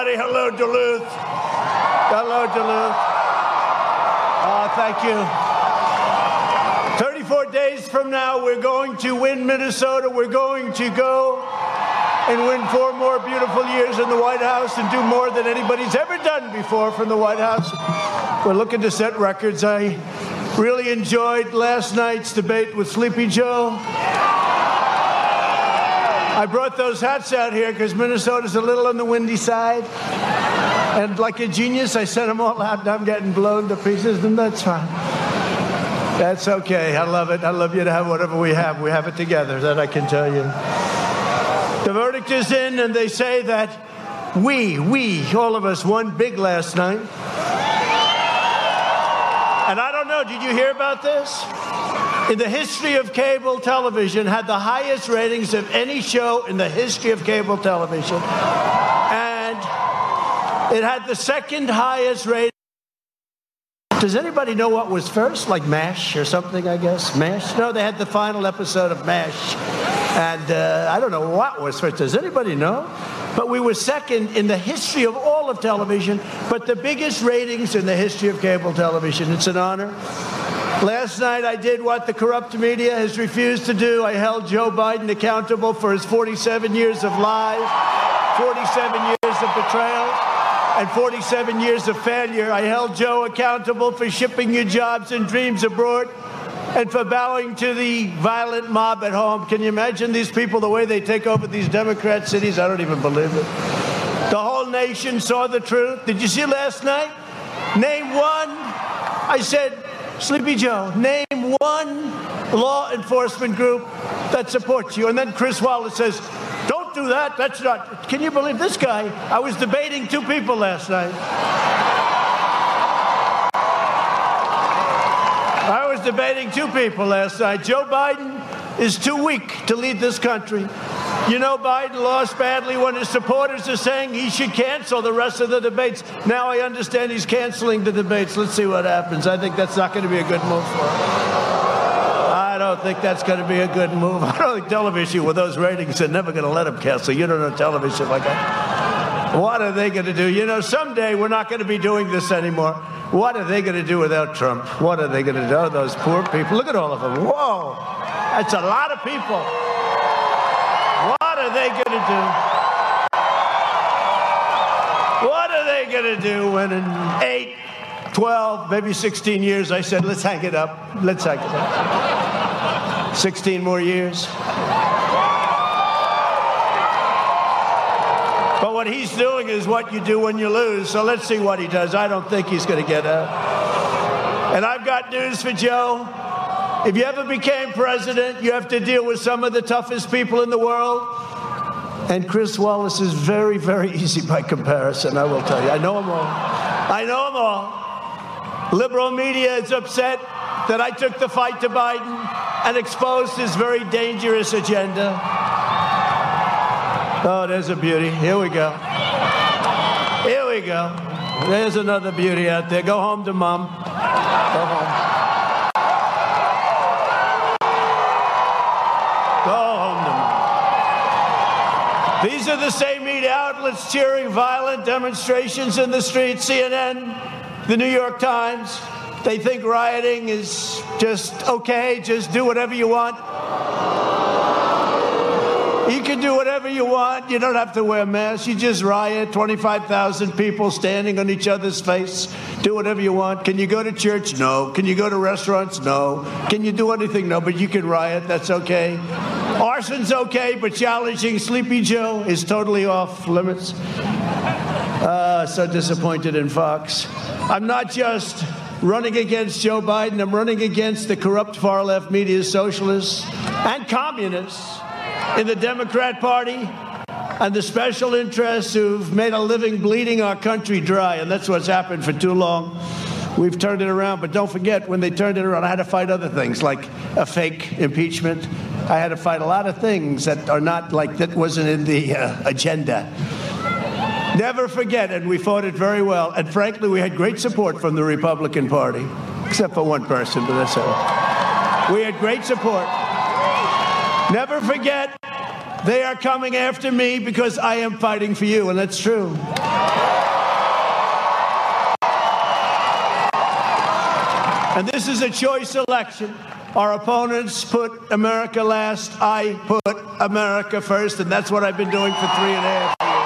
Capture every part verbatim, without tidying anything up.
everybody. Hello, Duluth. Hello, Duluth. Oh, thank you. thirty-four days from now, we're going to win Minnesota. We're going to go and win four more beautiful years in the White House and do more than anybody's ever done before from the White House. We're looking to set records. I really enjoyed last night's debate with Sleepy Joe. I brought those hats out here because Minnesota's a little on the windy side. And like a genius, I sent them all out, and I'm getting blown to pieces, and that's fine. That's okay. I love it. I love you to have whatever we have. We have it together, that I can tell you. The verdict is in, and they say that we, we, all of us, won big last night. And I don't know, did you hear about this? In the history of cable television, had the highest ratings of any show in the history of cable television. And it had the second highest rating. Does anybody know what was first? Like MASH or something, I guess? MASH? No, they had the final episode of MASH. And uh, I don't know what was first. Does anybody know? But we were second in the history of all of television, but the biggest ratings in the history of cable television. It's an honor. Last night, I did what the corrupt media has refused to do. I held Joe Biden accountable for his forty-seven years of lies, forty-seven years of betrayal, and forty-seven years of failure. I held Joe accountable for shipping your jobs and dreams abroad and for bowing to the violent mob at home. Can you imagine these people, the way they take over these Democrat cities? I don't even believe it. The whole nation saw the truth. Did you see last night? Name one. I said, Sleepy Joe, name one law enforcement group that supports you. And then Chris Wallace says, don't do that. That's not. Can you believe this guy? I was debating two people last night. I was debating two people last night. Joe Biden is too weak to lead this country. You know, Biden lost badly when his supporters are saying he should cancel the rest of the debates. Now I understand he's canceling the debates. Let's see what happens. I think that's not going to be a good move for him. I don't think that's going to be a good move. I don't think television with those ratings are never going to let him cancel. You don't know television like that. What are they going to do? You know, someday we're not going to be doing this anymore. What are they going to do without Trump? What are they going to do? Oh, those poor people. Look at all of them. Whoa. That's a lot of people. What are they going to do? What are they going to do when in eight, twelve, maybe sixteen years, I said, let's hang it up. Let's hang it up. sixteen more years. But what he's doing is what you do when you lose. So let's see what he does. I don't think he's going to get out. And I've got news for Joe. If you ever became president, you have to deal with some of the toughest people in the world. And Chris Wallace is very, very easy by comparison, I will tell you. I know them all. I know them all. Liberal media is upset that I took the fight to Biden and exposed his very dangerous agenda. Oh, there's a beauty. Here we go. Here we go. There's another beauty out there. Go home to mom. Go home. These are the same media outlets cheering violent demonstrations in the streets. C N N, the New York Times. They think rioting is just okay, just do whatever you want. You can do whatever you want. You don't have to wear masks. You just riot. twenty-five thousand people standing on each other's face. Do whatever you want. Can you go to church? No. Can you go to restaurants? No. Can you do anything? No. But you can riot. That's okay. Arson's okay, but challenging Sleepy Joe is totally off limits. Uh, so disappointed in Fox. I'm not just running against Joe Biden. I'm running against the corrupt far-left media socialists and communists in the Democrat Party and the special interests who've made a living bleeding our country dry. And that's what's happened for too long. We've turned it around. But don't forget, when they turned it around, I had to fight other things like a fake impeachment. I had to fight a lot of things that are not like that wasn't in the uh, agenda. Never forget, and we fought it very well. And frankly, we had great support from the Republican Party, except for one person, but that's all. We had great support. Never forget They are coming after me because I am fighting for you, and that's true. And this is a choice election. Our opponents put America last. I put America first, and that's what I've been doing for three and a half years.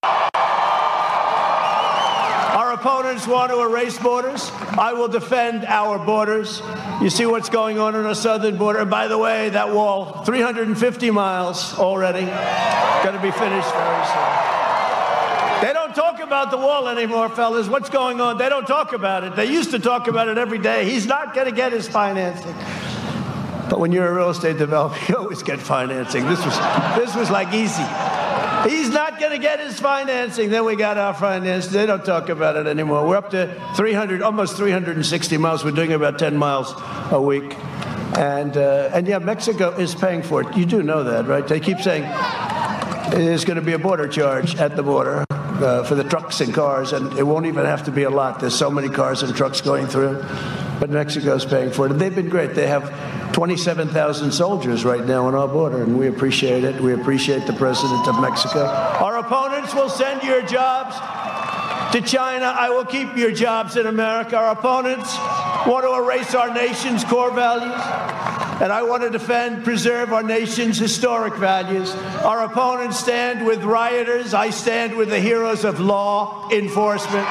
Our opponents want to erase borders. I will defend our borders. You see what's going on on our southern border. And by the way, that wall, three hundred fifty miles already, going to be finished very soon. They don't talk about the wall anymore, fellas. What's going on? They don't talk about it. They used to talk about it every day. He's not going to get his financing. But when you're a real estate developer, you always get financing. This was, this was like easy. He's not going to get his financing. Then we got our financing. They don't talk about it anymore. We're up to three hundred, almost three hundred sixty miles. We're doing about ten miles a week. And, uh, and yeah, Mexico is paying for it. You do know that, right? They keep saying there's going to be a border charge at the border uh, for the trucks and cars, and it won't even have to be a lot. There's so many cars and trucks going through. But Mexico's paying for it. And they've been great. They have twenty-seven thousand soldiers right now on our border, and we appreciate it. We appreciate the president of Mexico. Our opponents will send your jobs to China. I will keep your jobs in America. Our opponents want to erase our nation's core values, and I want to defend, preserve our nation's historic values. Our opponents stand with rioters. I stand with the heroes of law enforcement.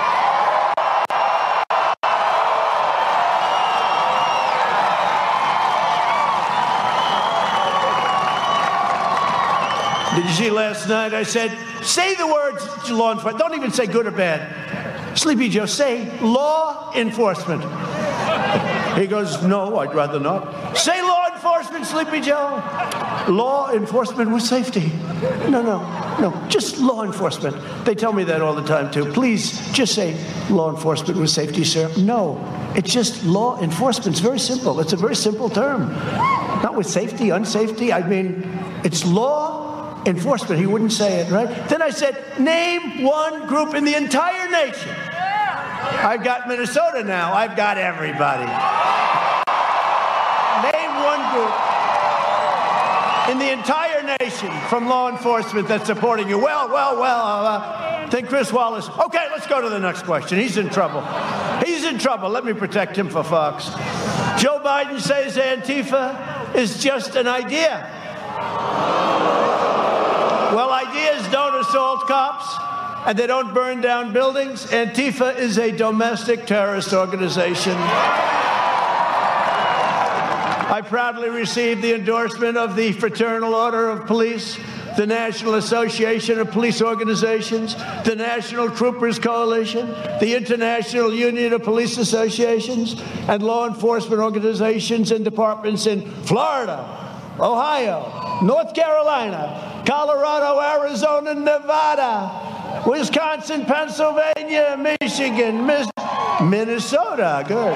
Did you see last night? I said, say the words law enforcement. Don't even say good or bad. Sleepy Joe, say law enforcement. He goes, no, I'd rather not. Say law enforcement, Sleepy Joe. Law enforcement with safety. No, no, no, just law enforcement. They tell me that all the time, too. Please, just say law enforcement with safety, sir. No, it's just law enforcement. It's very simple. It's a very simple term. Not with safety, unsafety. I mean, it's law enforcement. He wouldn't say it, right? Then I said, name one group in the entire nation. I've got Minnesota now. I've got everybody. Name one group in the entire nation from law enforcement that's supporting you. Well, well, well, uh, think Chris Wallace. Okay, let's go to the next question. He's in trouble. He's in trouble. Let me protect him for Fox. Joe Biden says Antifa is just an idea. Well, ideas don't assault cops, and they don't burn down buildings. Antifa is a domestic terrorist organization. I proudly received the endorsement of the Fraternal Order of Police, the National Association of Police Organizations, the National Troopers Coalition, the International Union of Police Associations, and law enforcement organizations and departments in Florida, Ohio, North Carolina, Colorado, Arizona, Nevada, Wisconsin, Pennsylvania, Michigan, Mis- Minnesota. Good.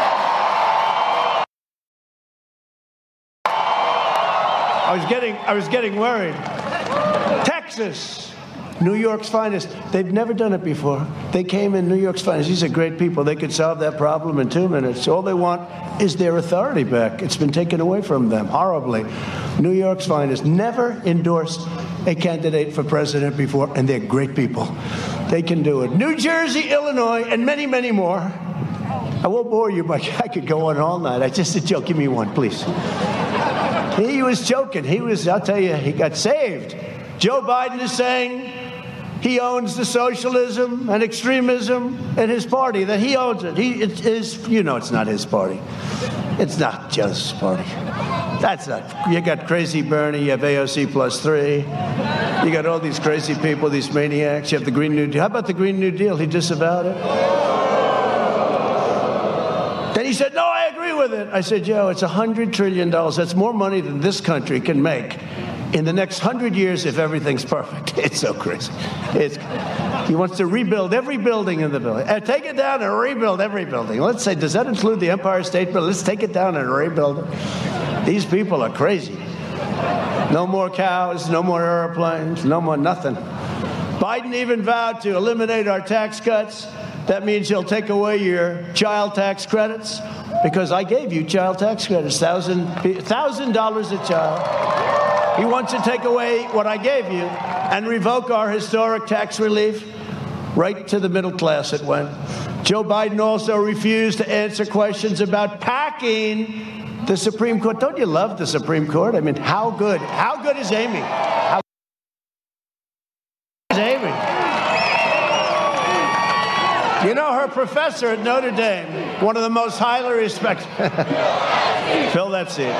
I was getting, I was getting worried. Texas, New York's finest. They've never done it before. They came in New York's finest. These are great people. They could solve that problem in two minutes. All they want is their authority back. It's been taken away from them horribly. New York's finest. Never endorsed a candidate for president before, and they're great people. They can do it. New Jersey, Illinois, and many, many more. I won't bore you, but I could go on all night. I just a joke. Give me one, please. He was joking. He was, I'll tell you, he got saved. Joe Biden is saying he owns the socialism and extremism in his party, that he owns it. He, it is, you know, it's not his party. It's not Joe's party. That's not, you got crazy Bernie, you have A O C plus three. You got all these crazy people, these maniacs. You have the Green New Deal. How about the Green New Deal? He disavowed it. Then he said, no, I agree with it. I said, Joe, it's one hundred trillion dollars. That's more money than this country can make in the next hundred years if everything's perfect. It's so crazy. It's, he wants to rebuild every building in the building. Uh, take it down and rebuild every building. Let's say, does that include the Empire State Building? Let's take it down and rebuild it. These people are crazy. No more cows, no more airplanes, no more nothing. Biden even vowed to eliminate our tax cuts. That means he'll take away your child tax credits, because I gave you child tax credits, thousand thousand dollars a child. He wants to take away what I gave you and revoke our historic tax relief. Right to the middle class it went. Joe Biden also refused to answer questions about packing the Supreme Court. Don't you love the Supreme Court? I mean, how good? How good is Amy? How good is Amy? You know, her professor at Notre Dame, one of the most highly respected. Fill that seat.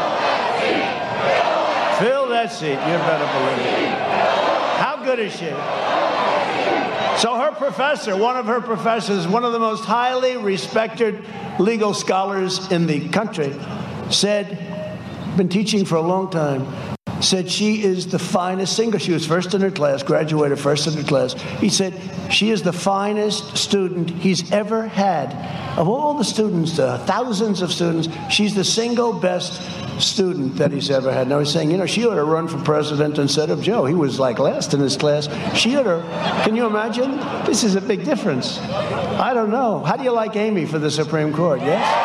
Fill that seat. You better believe it. How good is she? So her professor, one of her professors, one of the most highly respected legal scholars in the country, said, been teaching for a long time, said she is the finest singer. She was first in her class, graduated first in her class. He said she is the finest student he's ever had. Of all the students, uh, thousands of students, she's the single best student that he's ever had. Now he's saying, you know, she ought to run for president instead of Joe. He was like last in his class. She ought to, can you imagine? This is a big difference. I don't know. How do you like Amy for the Supreme Court, yes?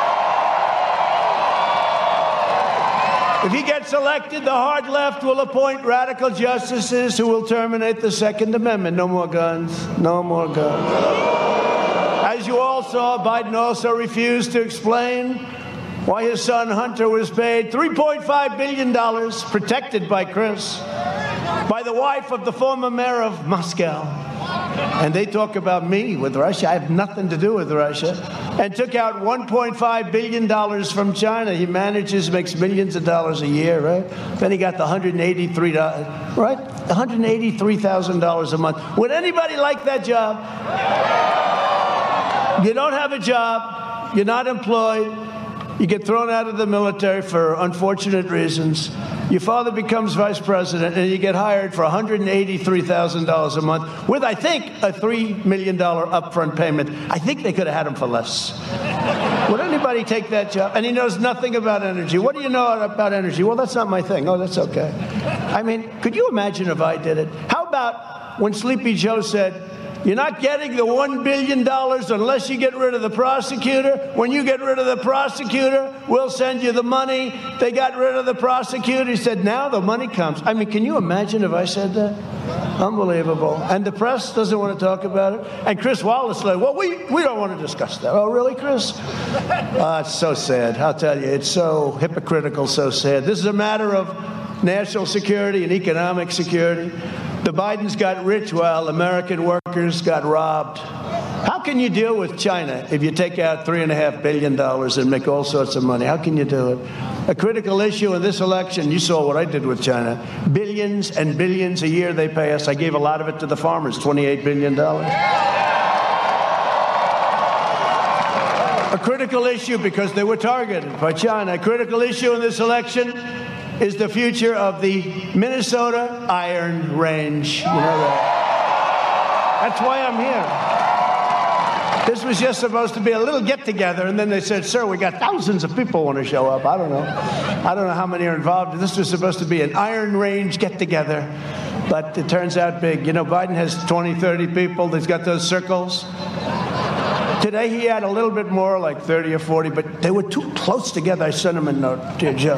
If he gets elected, the hard left will appoint radical justices who will terminate the Second Amendment. No more guns. No more guns. As you all saw, Biden also refused to explain why his son Hunter was paid three point five billion dollars, protected by Chris, by the wife of the former mayor of Moscow. And they talk about me with Russia. I have nothing to do with Russia. And took out one point five billion dollars from China. He manages, makes millions of dollars a year, right? Then he got the one hundred eighty-three dollars, right? one hundred eighty-three thousand dollars a month. Would anybody like that job? You don't have a job. You're not employed. You get thrown out of the military for unfortunate reasons. Your father becomes vice president, and you get hired for one hundred eighty-three thousand dollars a month with, I think, a three million dollars upfront payment. I think they could have had him for less. Would anybody take that job? And he knows nothing about energy. What do you know about energy? Well, that's not my thing. Oh, that's okay. I mean, could you imagine if I did it? How about when Sleepy Joe said, you're not getting the one billion dollars unless you get rid of the prosecutor. When you get rid of the prosecutor, we'll send you the money. They got rid of the prosecutor. He said, now the money comes. I mean, can you imagine if I said that? Unbelievable. And the press doesn't want to talk about it. And Chris Wallace said, well, we, we don't want to discuss that. Oh, really, Chris? Uh, it's so sad. I'll tell you, it's so hypocritical, so sad. This is a matter of national security and economic security. The Bidens got rich while American workers got robbed. How can you deal with China if you take out three and a half billion dollars and make all sorts of money? How can you do it? A critical issue in this election, you saw what I did with China. Billions and billions a year they pay us. I gave a lot of it to the farmers, twenty-eight billion dollars. A critical issue because they were targeted by China. A critical issue in this election is the future of the Minnesota Iron Range. You know that. That's why I'm here. This was just supposed to be a little get-together, and then they said, sir, we got thousands of people want to show up. I don't know. I don't know how many are involved. This was supposed to be an Iron Range get-together, but it turns out big. You know, Biden has twenty, thirty people. He's got those circles. Today he had a little bit more, like thirty or forty, but they were too close together. I sent him a note, dear Joe.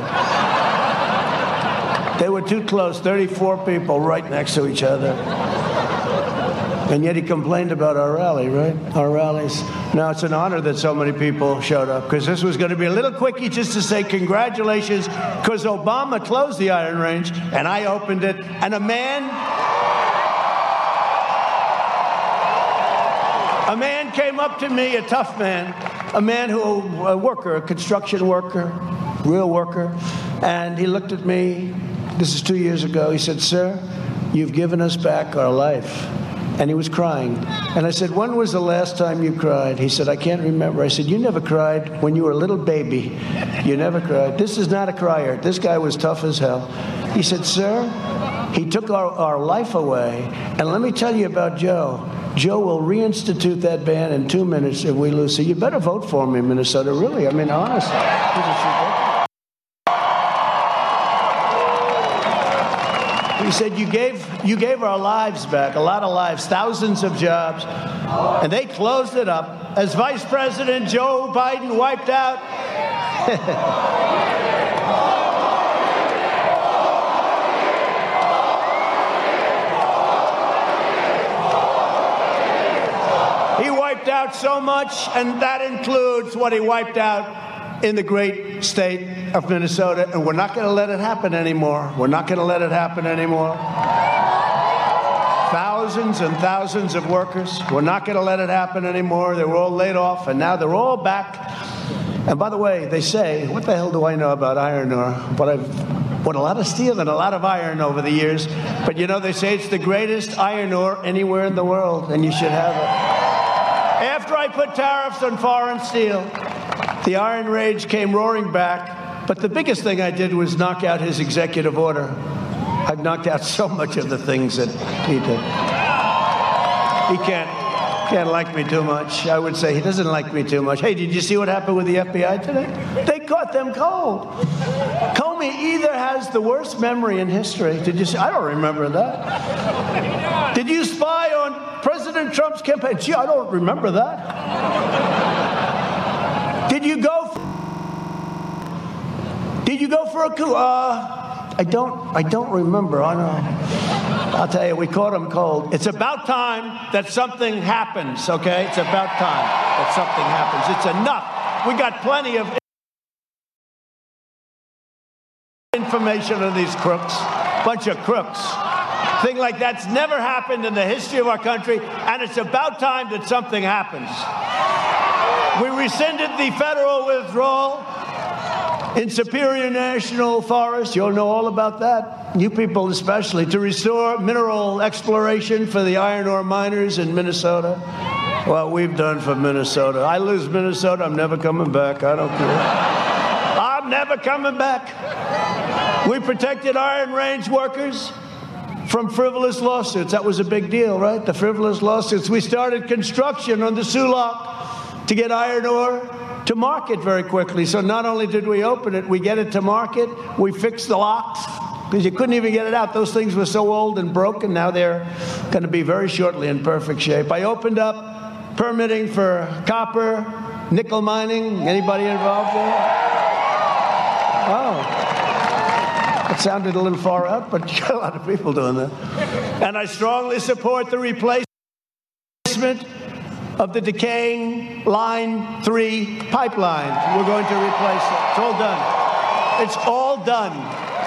They were too close, thirty-four people right next to each other. And yet he complained about our rally, right? Our rallies. Now, it's an honor that so many people showed up, because this was going to be a little quickie just to say congratulations, because Obama closed the Iron Range, and I opened it, and a man... A man came up to me, a tough man, a man who, a worker, a construction worker, real worker, and he looked at me. This is two years ago. He said, sir, you've given us back our life. And he was crying. And I said, when was the last time you cried? He said, I can't remember. I said, you never cried when you were a little baby. You never cried. This is not a crier. This guy was tough as hell. He said, sir, he took our, our life away. And let me tell you about Joe. Joe will reinstitute that ban in two minutes if we lose. So you better vote for me, Minnesota. Really, I mean, honestly. He said, you gave, you gave our lives back, a lot of lives, thousands of jobs, and they closed it up as Vice President Joe Biden wiped out. out so much, and that includes what he wiped out in the great state of Minnesota, and we're not going to let it happen anymore. We're not going to let it happen anymore. Thousands and thousands of workers, we're not going to let it happen anymore. They were all laid off, and now they're all back. And by the way, they say, what the hell do I know about iron ore? But I've bought a lot of steel and a lot of iron over the years. But you know, they say it's the greatest iron ore anywhere in the world, and you should have it. After I put tariffs on foreign steel, the Iron Rage came roaring back. But the biggest thing I did was knock out his executive order. I've knocked out so much of the things that he did. He can't, can't like me too much. I would say he doesn't like me too much. Hey, did you see what happened with the F B I today? They caught them cold. Comey either has the worst memory in history. Did you see? I don't remember that. Did you spy on President Trump's campaign? Gee, I don't remember that. Did you go for, Did you go for a coup? Uh, I don't, I don't remember. I know. I'll tell you, we caught him cold. It's about time that something happens, okay? It's about time that something happens. It's enough. We got plenty of information on these crooks. Bunch of crooks. Thing like that's never happened in the history of our country, and it's about time that something happens. We rescinded the federal withdrawal in Superior National Forest. You'll know all about that, you people especially, to restore mineral exploration for the iron ore miners in Minnesota. Well, we've done for Minnesota. I lose Minnesota, I'm never coming back. I don't care. I'm never coming back. We protected Iron Range workers from frivolous lawsuits. That was a big deal, right? The frivolous lawsuits. We started construction on the Sulak to get iron ore to market very quickly. So not only did we open it, we get it to market, we fixed the locks, because you couldn't even get it out. Those things were so old and broken. Now they're going to be very shortly in perfect shape. I opened up permitting for copper, nickel mining. Anybody involved there? Oh. It sounded a little far out, but you got a lot of people doing that. And I strongly support the replacement of the decaying Line three pipeline. We're going to replace it. It's all done. It's all done.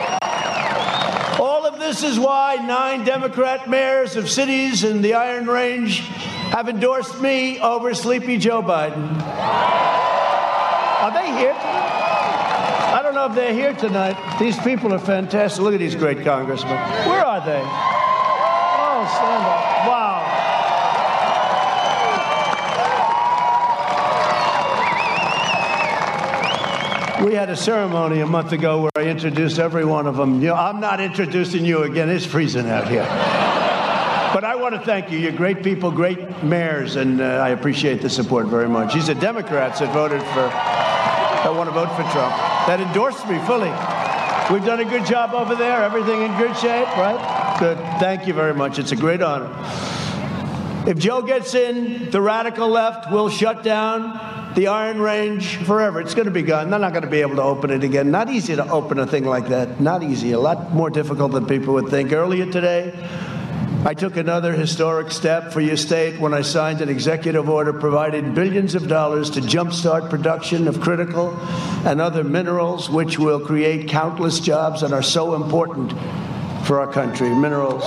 All of this is why nine Democrat mayors of cities in the Iron Range have endorsed me over Sleepy Joe Biden. Are they here tonight? I don't know if they're here tonight. These people are fantastic. Look at these great congressmen. Where are they? Oh, stand up. Wow. We had a ceremony a month ago where I introduced every one of them. You know, I'm not introducing you again. It's freezing out here. But I want to thank you. You're great people, great mayors, and uh, I appreciate the support very much. These are Democrats that voted for, that want to vote for Trump, that endorsed me fully. We've done a good job over there. Everything in good shape, right? Good. Thank you very much. It's a great honor. If Joe gets in, the radical left will shut down the Iron Range forever. It's going to be gone. They're not going to be able to open it again. Not easy to open a thing like that. Not easy. A lot more difficult than people would think. Earlier today, I took another historic step for your state when I signed an executive order providing billions of dollars to jumpstart production of critical and other minerals, which will create countless jobs and are so important for our country. Minerals.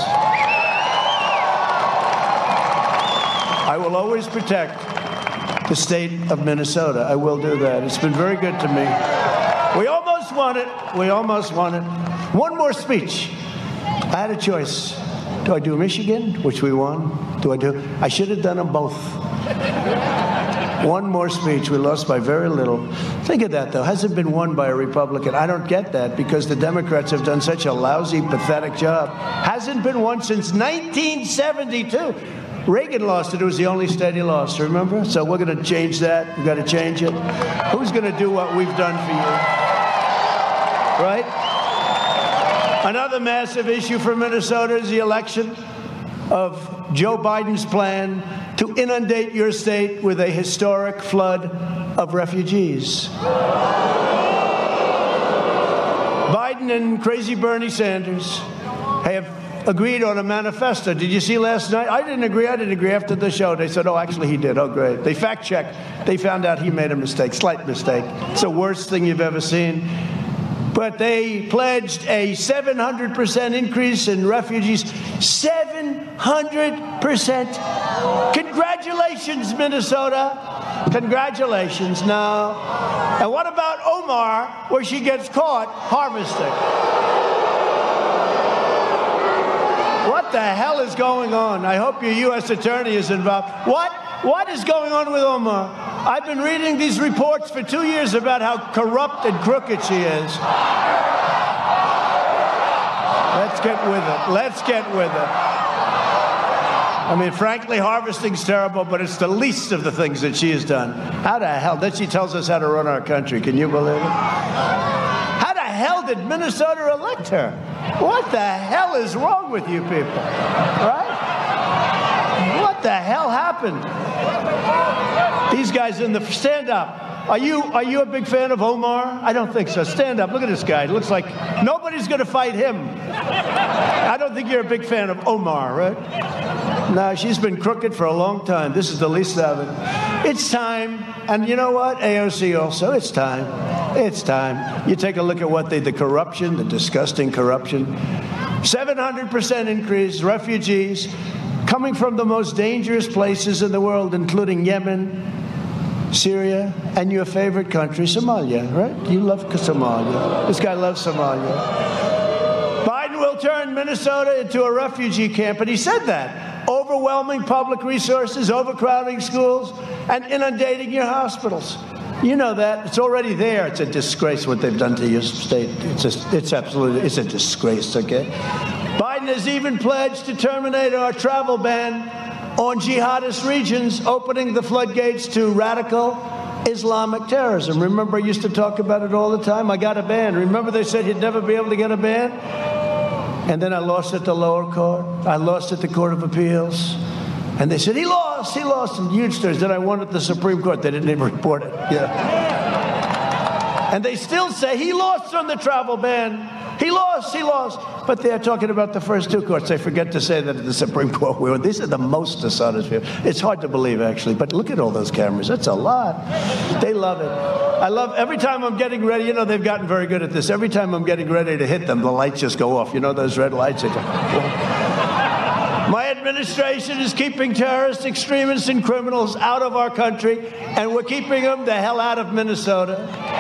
I will always protect the state of Minnesota. I will do that. It's been very good to me. We almost won it. We almost won it. One more speech. I had a choice. Do I do Michigan, which we won? Do I do? I should have done them both. One more speech. We lost by very little. Think of that, though. Hasn't been won by a Republican. I don't get that because the Democrats have done such a lousy, pathetic job. Hasn't been won since nineteen seventy-two. Reagan lost it. It was the only state he lost, remember? So we're going to change that. We've got to change it. Who's going to do what we've done for you? Right? Another massive issue for Minnesota is the election of Joe Biden's plan to inundate your state with a historic flood of refugees. Biden and crazy Bernie Sanders have agreed on a manifesto. Did you see last night? I didn't agree. I didn't agree. After the show, they said, oh, actually, he did. Oh, great. They fact-checked. They found out he made a mistake, slight mistake. It's the worst thing you've ever seen. But they pledged a seven hundred percent increase in refugees. seven hundred percent. Congratulations, Minnesota. Congratulations. No. And what about Omar, where she gets caught harvesting? What the hell is going on? I hope your U S attorney is involved. What? What is going on with Omar? I've been reading these reports for two years about how corrupt and crooked she is. Let's get with it. Let's get with it. I mean, frankly, harvesting's terrible, but it's the least of the things that she has done. How the hell? Then she tells us how to run our country. Can you believe it? How the hell did Minnesota elect her? What the hell is wrong with you people? Right? What the hell happened? These guys in the stand up. Are you are you a big fan of Omar? I don't think so. Stand up. Look at this guy. It looks like nobody's going to fight him. I don't think you're a big fan of Omar, right? No, she's been crooked for a long time. This is the least of it. It's time. And you know what? A O C also. It's time. It's time. You take a look at what they, the corruption, the disgusting corruption. seven hundred percent increase, refugees coming from the most dangerous places in the world, including Yemen, Syria, and your favorite country, Somalia, right? You love Somalia. This guy loves Somalia. Biden will turn Minnesota into a refugee camp, and he said that. Overwhelming public resources, overcrowding schools, and inundating your hospitals. You know that. It's already there. It's a disgrace what they've done to your state. It's just, it's absolutely, it's a disgrace, okay? Biden has even pledged to terminate our travel ban on jihadist regions, opening the floodgates to radical Islamic terrorism. Remember, I used to talk about it all the time. I got a ban. Remember, they said he'd never be able to get a ban? And then I lost at the lower court. I lost at the Court of Appeals. And they said, he lost, he lost in huge stories. Then I won at the Supreme Court. They didn't even report it. Yeah. And they still say he lost on the travel ban. He lost, he lost. But they're talking about the first two courts. They forget to say that at the Supreme Court we won. These are the most dishonest people. It's hard to believe, actually. But look at all those cameras. That's a lot. They love it. I love, every time I'm getting ready, you know, they've gotten very good at this. Every time I'm getting ready to hit them, the lights just go off. You know those red lights? My administration is keeping terrorists, extremists, and criminals out of our country, and we're keeping them the hell out of Minnesota.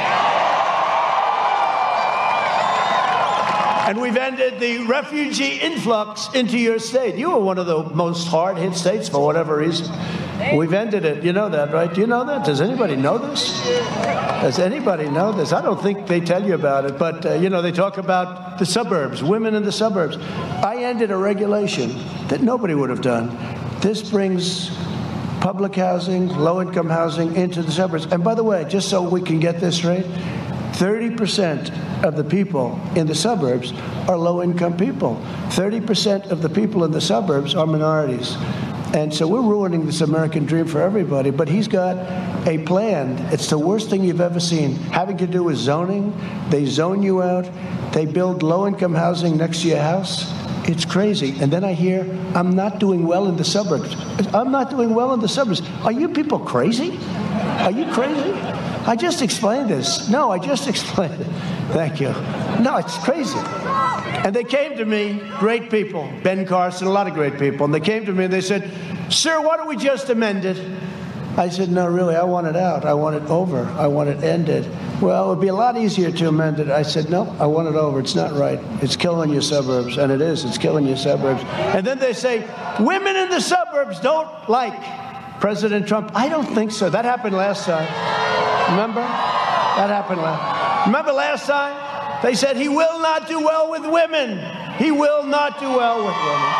And we've ended the refugee influx into your state. You were one of the most hard-hit states for whatever reason. We've ended it. You know that, right? Do you know that? Does anybody know this? Does anybody know this? I don't think they tell you about it. But, uh, you know, they talk about the suburbs, women in the suburbs. I ended a regulation that nobody would have done. This brings public housing, low-income housing into the suburbs. And by the way, just so we can get this straight, thirty percent of the people in the suburbs are low-income people. thirty percent of the people in the suburbs are minorities. And so we're ruining this American dream for everybody. But he's got a plan. It's the worst thing you've ever seen, having to do with zoning. They zone you out. They build low-income housing next to your house. It's crazy. And then I hear, I'm not doing well in the suburbs. I'm not doing well in the suburbs. Are you people crazy? Are you crazy? I just explained this. No, I just explained it. Thank you. No, it's crazy. And they came to me, great people, Ben Carson, a lot of great people, and they came to me and they said, sir, why don't we just amend it? I said, no, really, I want it out. I want it over. I want it ended. Well, it would be a lot easier to amend it. I said, no, I want it over. It's not right. It's killing your suburbs. And it is. It's killing your suburbs. And then they say, women in the suburbs don't like President Trump. I don't think so. That happened last time. Remember? That happened last. Remember last time? They said he will not do well with women. He will not do well with women.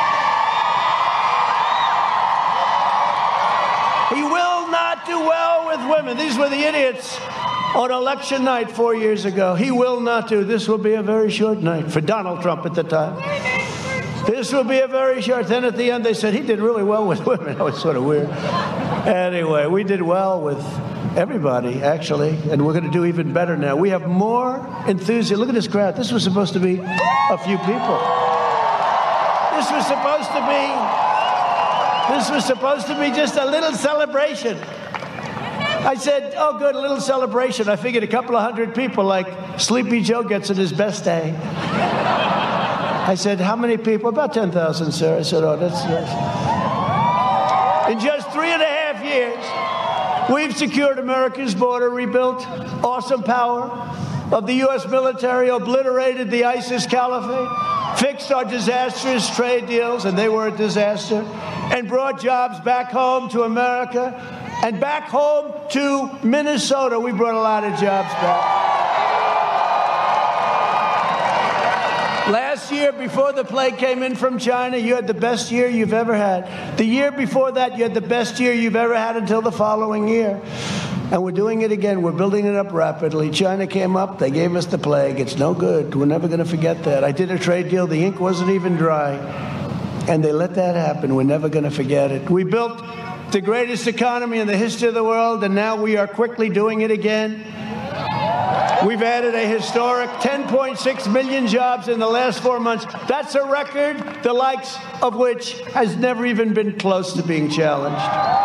He will not do well with women. These were the idiots on election night four years ago. He will not do. This will be a very short night for Donald Trump at the time. This will be a very short. Then at the end they said he did really well with women. That was sort of weird. Anyway, we did well with everybody, actually, and we're going to do even better now. We have more enthusiasm. Look at this crowd. This was supposed to be a few people. this was supposed to be, this was supposed to be just a little celebration. I said, oh, good, a little celebration. I figured a couple of hundred people, like Sleepy Joe gets it his best day. I said, how many people? About ten thousand, sir. I said, oh, that's nice. In just three and a half years, we've secured America's border, rebuilt awesome power of the U S military, obliterated the ISIS caliphate, fixed our disastrous trade deals, and they were a disaster, and brought jobs back home to America and back home to Minnesota. We brought a lot of jobs back. Last year, before the plague came in from China, you had the best year you've ever had. The year before that, you had the best year you've ever had until the following year. And we're doing it again. We're building it up rapidly. China came up. They gave us the plague. It's no good. We're never going to forget that. I did a trade deal. The ink wasn't even dry. And they let that happen. We're never going to forget it. We built the greatest economy in the history of the world, and now we are quickly doing it again. We've added a historic ten point six million jobs in the last four months. That's a record, the likes of which has never even been close to being challenged.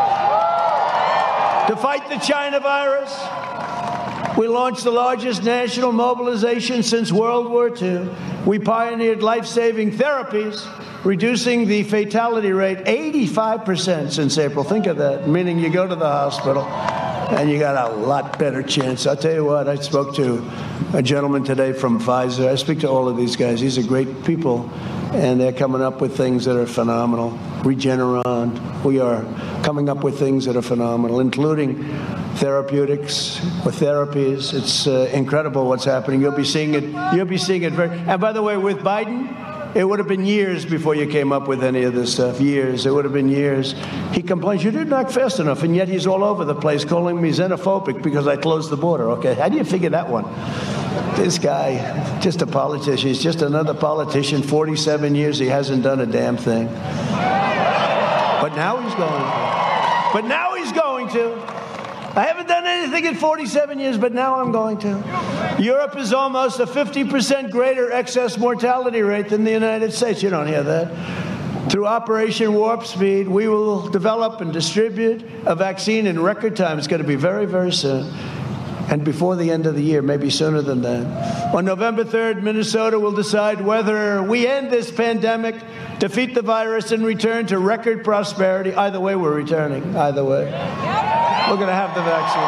To fight the China virus, we launched the largest national mobilization since World War Two. We pioneered life-saving therapies, reducing the fatality rate eighty-five percent since April. Think of that, meaning you go to the hospital and you got a lot better chance. I'll tell you what, I spoke to a gentleman today from Pfizer. I speak to all of these guys. These are great people, and they're coming up with things that are phenomenal. Regeneron, we are coming up with things that are phenomenal, including therapeutics or therapies. It's uh, incredible what's happening. You'll be seeing it. You'll be seeing it very. And by the way, with Biden, it would have been years before you came up with any of this stuff. Years. It would have been years. He complains, you didn't act fast enough, and yet he's all over the place calling me xenophobic because I closed the border. Okay, how do you figure that one? This guy, just a politician. He's just another politician. forty-seven years, he hasn't done a damn thing. But now he's going to. But now he's going to. I haven't done anything in forty-seven years, but now I'm going to. Europe is almost a fifty percent greater excess mortality rate than the United States. You don't hear that. Through Operation Warp Speed, we will develop and distribute a vaccine in record time. It's going to be very, very soon. And before the end of the year, maybe sooner than that. On November third, Minnesota will decide whether we end this pandemic, defeat the virus, and return to record prosperity. Either way, we're returning. Either way. We're going to have the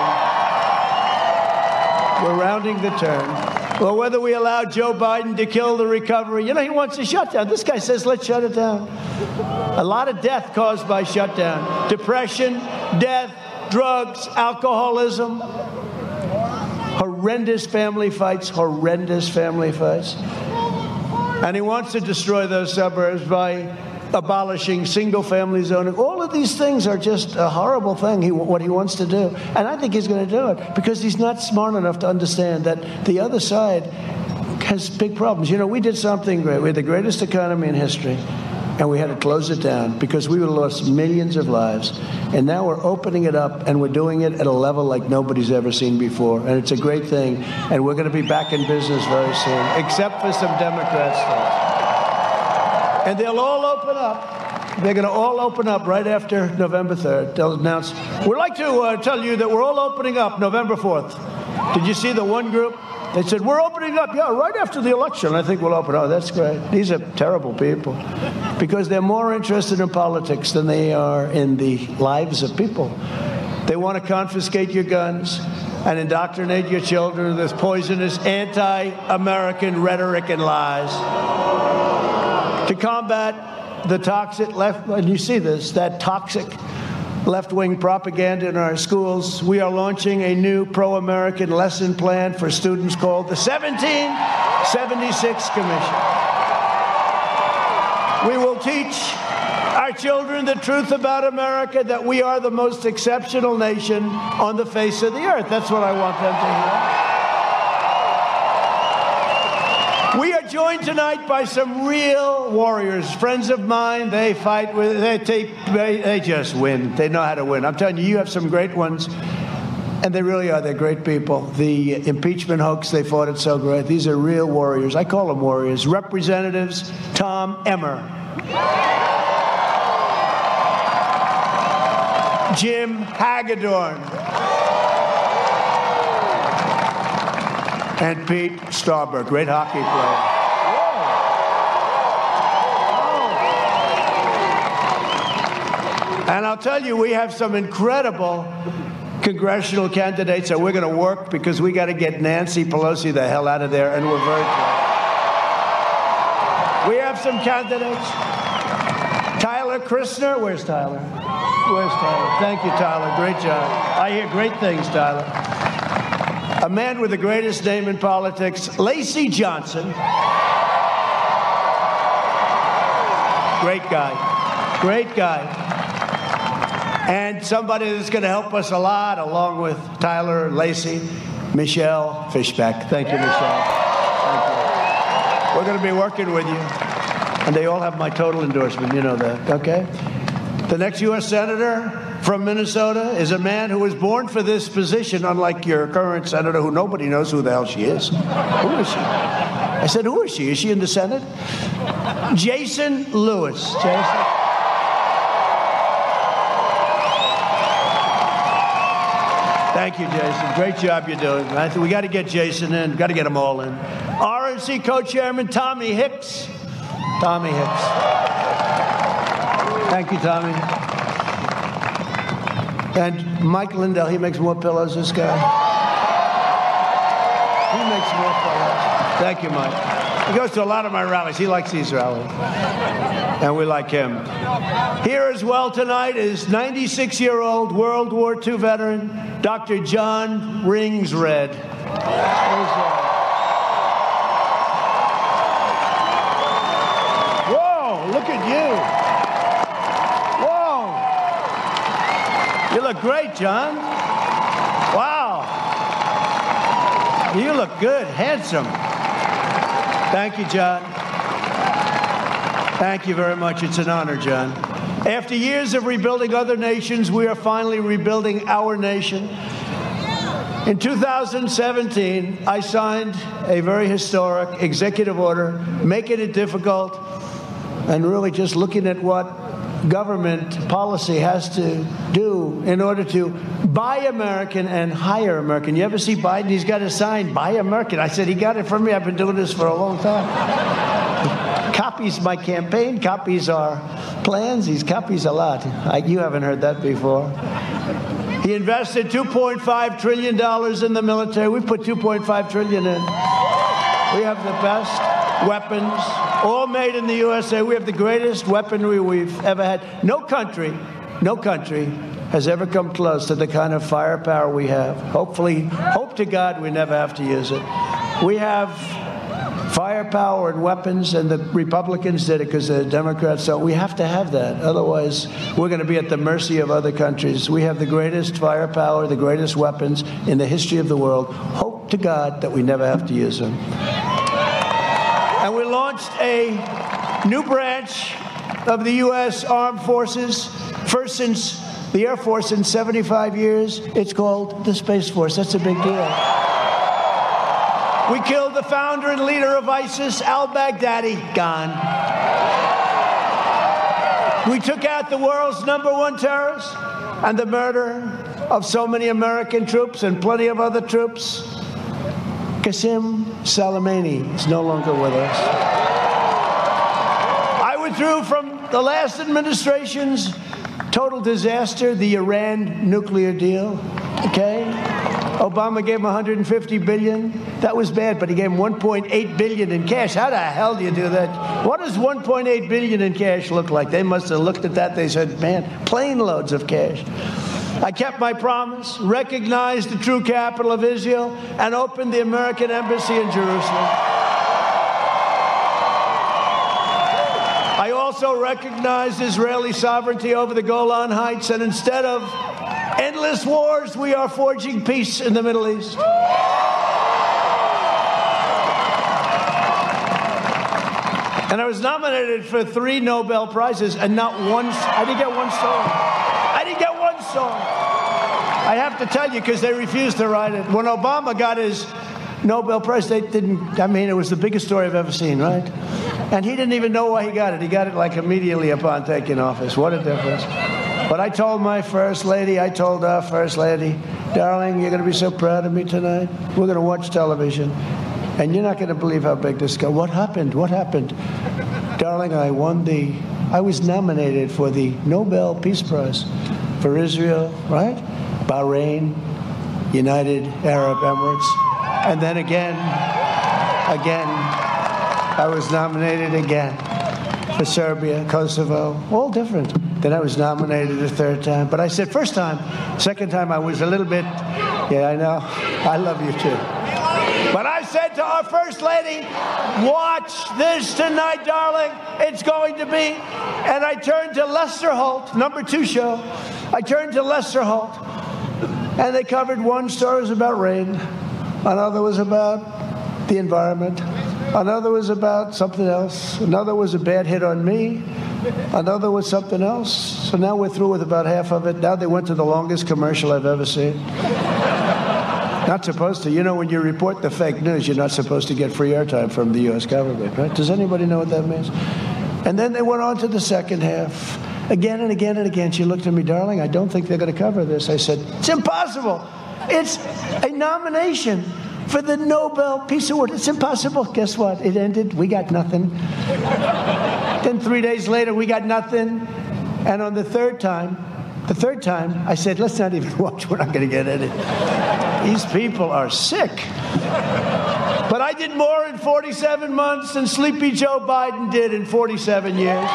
vaccine. We're rounding the turn. Well, whether we allow Joe Biden to kill the recovery, you know, he wants a shutdown. This guy says, let's shut it down. A lot of death caused by shutdown. Depression, death, drugs, alcoholism. Horrendous family fights, horrendous family fights. And he wants to destroy those suburbs by abolishing single-family zoning. All of these things are just a horrible thing, he, what he wants to do. And I think he's going to do it because he's not smart enough to understand that the other side has big problems. You know, we did something great. We had the greatest economy in history, and we had to close it down because we would have lost millions of lives. And now we're opening it up, and we're doing it at a level like nobody's ever seen before. And it's a great thing. And we're going to be back in business very soon, except for some Democrat states. And they'll all open up. They're going to all open up right after November third. They'll announce. We'd like to uh, tell you that we're all opening up November fourth. Did you see the one group? They said, we're opening up, yeah, right after the election. I think we'll open up. Oh, that's great. These are terrible people because they're more interested in politics than they are in the lives of people. They want to confiscate your guns and indoctrinate your children with this poisonous anti-American rhetoric and lies. To combat the toxic left, and you see this, that toxic left-wing propaganda in our schools, we are launching a new pro-American lesson plan for students called the seventeen seventy-six Commission. We will teach our children the truth about America, that we are the most exceptional nation on the face of the earth. That's what I want them to hear. We are joined tonight by some real warriors, friends of mine. They fight with, they take, they, they just win. They know how to win. I'm telling you, you have some great ones, and they really are. They're great people. The impeachment hoax, they fought it so great. These are real warriors. I call them warriors. Representatives Tom Emmer, Jim Hagedorn. And Pete Stauber, great hockey player. And I'll tell you, we have some incredible congressional candidates that we're going to work because we got to get Nancy Pelosi the hell out of there, and we're very close. We have some candidates. Tyler Kristner. Where's Tyler? Where's Tyler? Thank you, Tyler. Great job. I hear great things, Tyler. A man with the greatest name in politics, Lacey Johnson. Great guy. Great guy. And somebody that's going to help us a lot, along with Tyler, Lacey, Michelle Fishback. Thank you, Michelle. Thank you. We're going to be working with you. And they all have my total endorsement. You know that, okay? The next U S Senator from Minnesota is a man who was born for this position, unlike your current senator, who nobody knows who the hell she is. Who is she? I said, who is she? Is she in the Senate? Jason Lewis. Jason. Thank you, Jason. Great job you're doing. I think we got to get Jason in. Got to get them all in. R N C co-chairman Tommy Hicks. Tommy Hicks. Thank you, Tommy. And Mike Lindell, he makes more pillows, this guy. He makes more pillows. Thank you, Mike. He goes to a lot of my rallies. He likes these rallies. And we like him. Here as well tonight is ninety-six-year-old World War Two veteran, Doctor John Ringsred. Whoa, look at you. Whoa. You look great, John. Wow. You look good, handsome. Thank you, John. Thank you very much. It's an honor, John. After years of rebuilding other nations, we are finally rebuilding our nation. In two thousand seventeen, I signed a very historic executive order, making it difficult and really just looking at what government policy has to do in order to buy American and hire American. You ever see Biden? He's got a sign, buy American. I said, he got it from me. I've been doing this for a long time. Copies my campaign, copies our plans. He copies a lot. I, you haven't heard that before. He invested two point five trillion dollars in the military. We put two point five trillion dollars in. We have the best weapons, all made in the U S A. We have the greatest weaponry we've ever had. No country, no country has ever come close to the kind of firepower we have. Hopefully, hope to God we never have to use it. We have firepower and weapons, and the Republicans did it because the Democrats don't. We have to have that. Otherwise, we're going to be at the mercy of other countries. We have the greatest firepower, the greatest weapons in the history of the world. Hope to God that we never have to use them. And we launched a new branch of the U S Armed Forces, first since the Air Force in seventy-five years. It's called the Space Force. That's a big deal. We killed the founder and leader of ISIS, al-Baghdadi, gone. We took out the world's number one terrorist, and the murder of so many American troops and plenty of other troops. Qasem Soleimani is no longer with us. I withdrew from the last administration's total disaster, the Iran nuclear deal, okay? Obama gave him one hundred fifty billion dollars. That was bad, but he gave him one point eight billion dollars in cash. How the hell do you do that? What does one point eight billion dollars in cash look like? They must have looked at that. They said, man, plane loads of cash. I kept my promise, recognized the true capital of Israel, and opened the American embassy in Jerusalem. I also recognized Israeli sovereignty over the Golan Heights, and instead of endless wars, we are forging peace in the Middle East. And I was nominated for three Nobel Prizes, and not one, I didn't get one song. I didn't get one song. I have to tell you, because they refused to write it. When Obama got his Nobel Prize, they didn't, I mean, it was the biggest story I've ever seen, right? And he didn't even know why he got it. He got it like immediately upon taking office. What a difference. But I told my first lady, I told our first lady, darling, you're going to be so proud of me tonight. We're going to watch television. And you're not going to believe how big this got. What happened? What happened? Darling, I won the, I was nominated for the Nobel Peace Prize for Israel, right? Bahrain, United Arab Emirates. And then again, again, I was nominated again for Serbia, Kosovo, all different. Then I was nominated a third time. But I said, first time, second time I was a little bit, yeah, I know, I love you too. But I said to our First Lady, watch this tonight, darling. It's going to be. And I turned to Lester Holt, number two show. I turned to Lester Holt. And they covered one story was about rain. Another was about the environment. Another was about something else. Another was a bad hit on me. Another was something else. So now we're through with about half of it. Now they went to the longest commercial I've ever seen. Not supposed to. You know, when you report the fake news, you're not supposed to get free airtime from the U S government, right? Does anybody know what that means? And then they went on to the second half. Again and again and again, she looked at me, darling, I don't think they're going to cover this. I said, it's impossible. It's a nomination for the Nobel Peace Award. It's impossible. Guess what? It ended. We got nothing. Then three days later, we got nothing. And on the third time, the third time, I said, let's not even watch. We're not going to get any. These people are sick. But I did more in forty-seven months than Sleepy Joe Biden did in forty-seven years.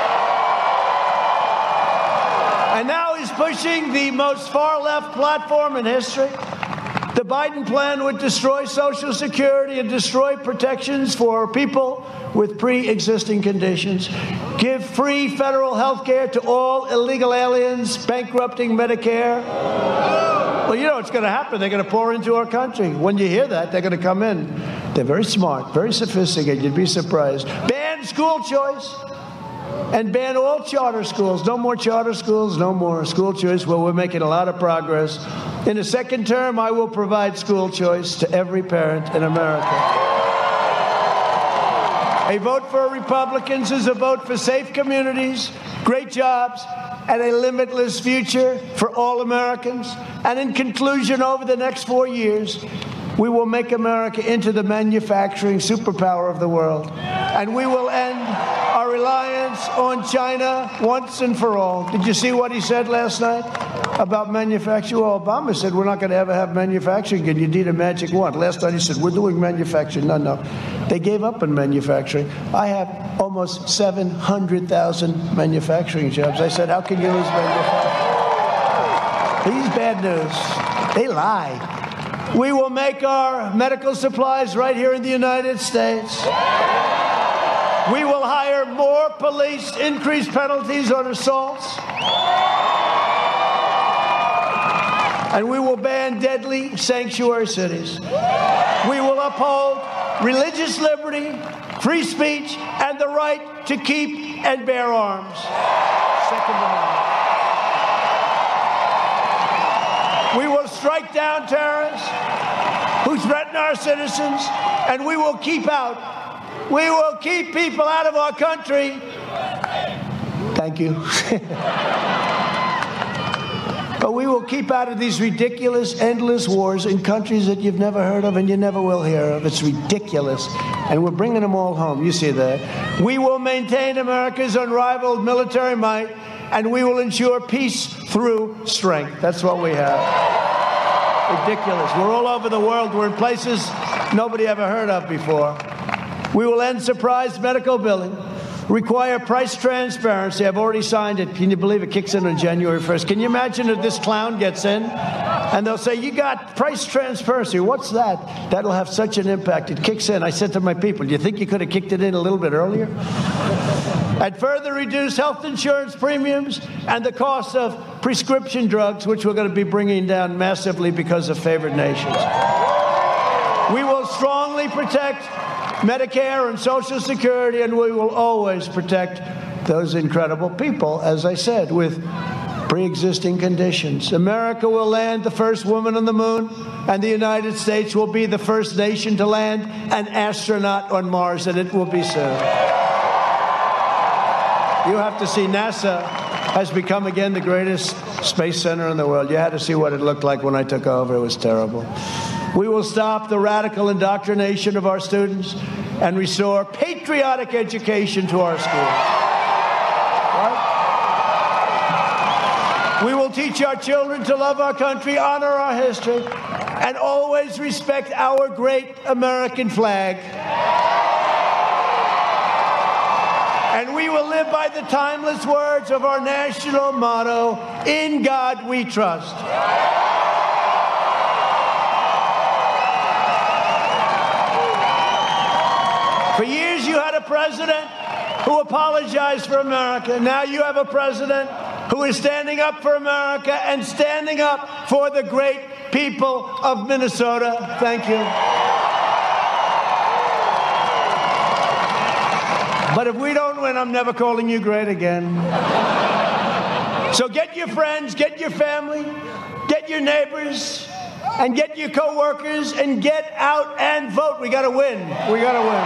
And now he's pushing the most far-left platform in history. The Biden plan would destroy Social Security and destroy protections for people with pre-existing conditions, give free federal health care to all illegal aliens, bankrupting Medicare. Well, you know what's going to happen. They're going to pour into our country. When you hear that, they're going to come in. They're very smart, very sophisticated. You'd be surprised. Ban school choice and ban all charter schools. No more charter schools, no more school choice. Well, we're making a lot of progress. In the second term, I will provide school choice to every parent in America. A vote for Republicans is a vote for safe communities, great jobs, and a limitless future for all Americans. And in conclusion, over the next four years, we will make America into the manufacturing superpower of the world. And we will end our reliance on China once and for all. Did you see what he said last night about manufacturing? Well, Obama said we're not going to ever have manufacturing again. You need a magic wand. Last night he said we're doing manufacturing. No, no. They gave up on manufacturing. I have almost seven hundred thousand manufacturing jobs. I said, how can you lose manufacturing? These bad news. They lie. We will make our medical supplies right here in the United States. We will hire more police, increase penalties on assaults. And we will ban deadly sanctuary cities. We will uphold religious liberty, free speech, and the right to keep and bear arms. Second Amendment. We will strike down terrorists who threaten our citizens, and we will keep out, we will keep people out of our country. Thank you. But we will keep out of these ridiculous, endless wars in countries that you've never heard of and you never will hear of. It's ridiculous. And we're bringing them all home. You see that. We will maintain America's unrivaled military might, and we will ensure peace through strength. That's what we have. Ridiculous. We're all over the world. We're in places nobody ever heard of before. We will end surprise medical billing, require price transparency. I've already signed it. Can you believe it kicks in on January first? Can you imagine if this clown gets in and they'll say, you got price transparency. What's that? That'll have such an impact. It kicks in. I said to my people, do you think you could have kicked it in a little bit earlier? And further reduce health insurance premiums and the cost of prescription drugs, which we're going to be bringing down massively because of favored nations. We will strongly protect Medicare and Social Security, and we will always protect those incredible people, as I said, with pre-existing conditions. America will land the first woman on the moon, and the United States will be the first nation to land an astronaut on Mars, and it will be soon. You have to see NASA has become again the greatest space center in the world. You had to see what it looked like when I took over. It was terrible. We will stop the radical indoctrination of our students and restore patriotic education to our schools. Right? We will teach our children to love our country, honor our history, and always respect our great American flag. And we will live by the timeless words of our national motto, "In God we trust." For years you had a president who apologized for America. Now you have a president who is standing up for America and standing up for the great people of Minnesota. Thank you. But if we don't win, I'm never calling you great again. So get your friends, get your family, get your neighbors, and get your co-workers, and get out and vote. We got to win. We got to win.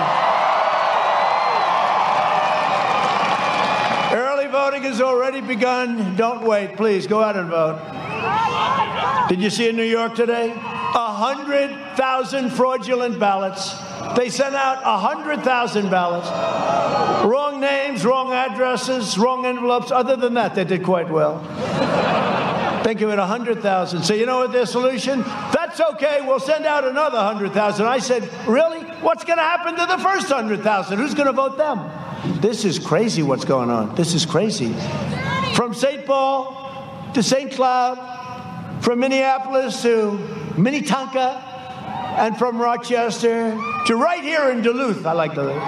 Early voting has already begun. Don't wait. Please, go out and vote. Did you see in New York today? A hundred thousand fraudulent ballots. They sent out a hundred thousand ballots. Wrong names, wrong addresses, wrong envelopes. Other than that, they did quite well. Think of it, a hundred thousand. So you know what their solution? That's okay, we'll send out another hundred thousand. I said, really? What's going to happen to the first hundred thousand? Who's going to vote them? This is crazy what's going on. This is crazy. From Saint Paul to Saint Cloud, from Minneapolis to Minnetonka, and from Rochester to right here in Duluth. I like Duluth.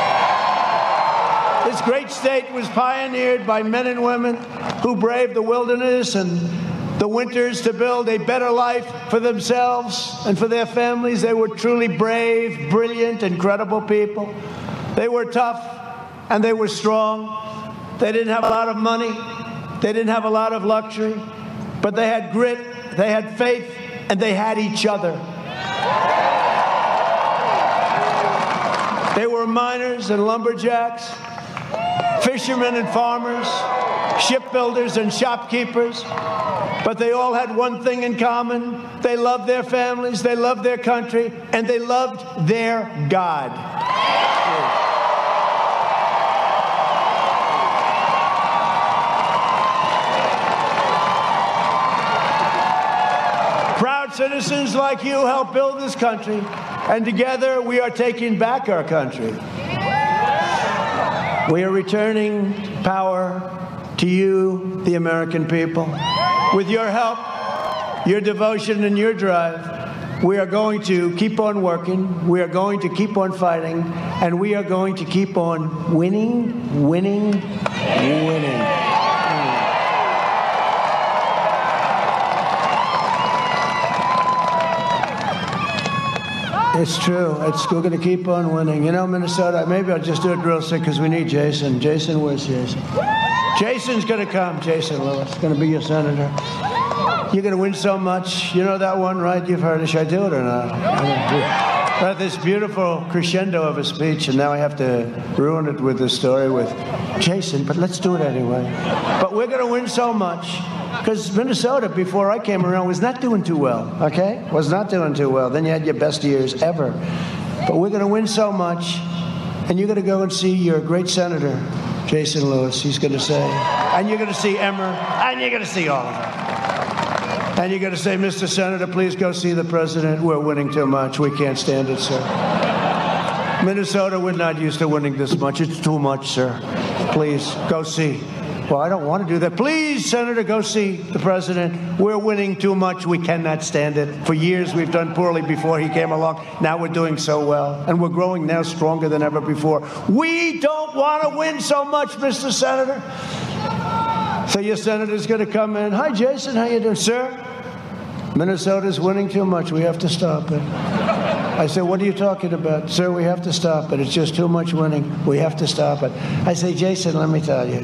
This great state was pioneered by men and women who braved the wilderness and the winters to build a better life for themselves and for their families. They were truly brave, brilliant, incredible people. They were tough and they were strong. They didn't have a lot of money. They didn't have a lot of luxury, but they had grit, they had faith, and they had each other. They were miners and lumberjacks, fishermen and farmers, shipbuilders and shopkeepers, but they all had one thing in common. They loved their families, they loved their country, and they loved their God. Proud citizens like you helped build this country, and together we are taking back our country. We are returning power to you, the American people. With your help, your devotion, and your drive, we are going to keep on working, we are going to keep on fighting, and we are going to keep on winning, winning, winning. It's true. It's, we're going to keep on winning. You know, Minnesota, maybe I'll just do it real sick because we need Jason. Jason, where's Jason? Jason's going to come. Jason Lewis is going to be your senator. You're going to win so much. You know that one, right? You've heard it. Should I do it or not? I had this beautiful crescendo of a speech, and now I have to ruin it with this story with Jason, but let's do it anyway. But we're going to win so much. Because Minnesota, before I came around, was not doing too well, okay? Was not doing too well. Then you had your best years ever. But we're going to win so much, and you're going to go and see your great senator, Jason Lewis. He's going to say, and you're going to see Emmer, and you're going to see all of them. And you're going to say, Mister Senator, please go see the president. We're winning too much. We can't stand it, sir. Minnesota, we're not used to winning this much. It's too much, sir. Please, go see. Well, I don't want to do that. Please, Senator, go see the president. We're winning too much. We cannot stand it. For years, we've done poorly before he came along. Now we're doing so well. And we're growing now stronger than ever before. We don't want to win so much, Mister Senator. So your senator's going to come in. Hi, Jason. How you doing, sir? Minnesota's winning too much. We have to stop it. I said, what are you talking about? Sir, we have to stop it. It's just too much winning. We have to stop it. I say, Jason, let me tell you.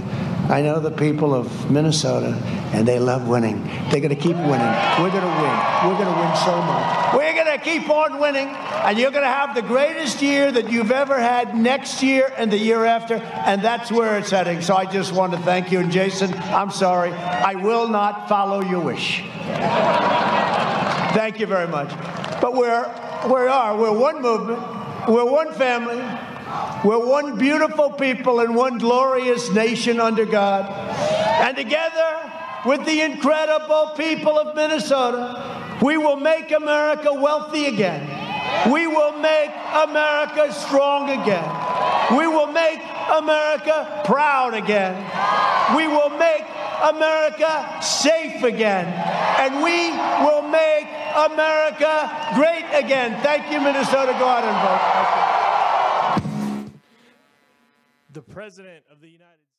I know the people of Minnesota, and they love winning. They're going to keep winning. We're going to win. We're going to win so much. We're going to keep on winning, and you're going to have the greatest year that you've ever had next year and the year after, and that's where it's heading. So I just want to thank you. And Jason, I'm sorry. I will not follow your wish. Thank you very much. But we're, we are. We're one movement. We're one family. We're one beautiful people and one glorious nation under God. And together with the incredible people of Minnesota, we will make America wealthy again. We will make America strong again. We will make America proud again. We will make America safe again. And we will make America great again. Thank you, Minnesota. Go out and vote. The President of the United States.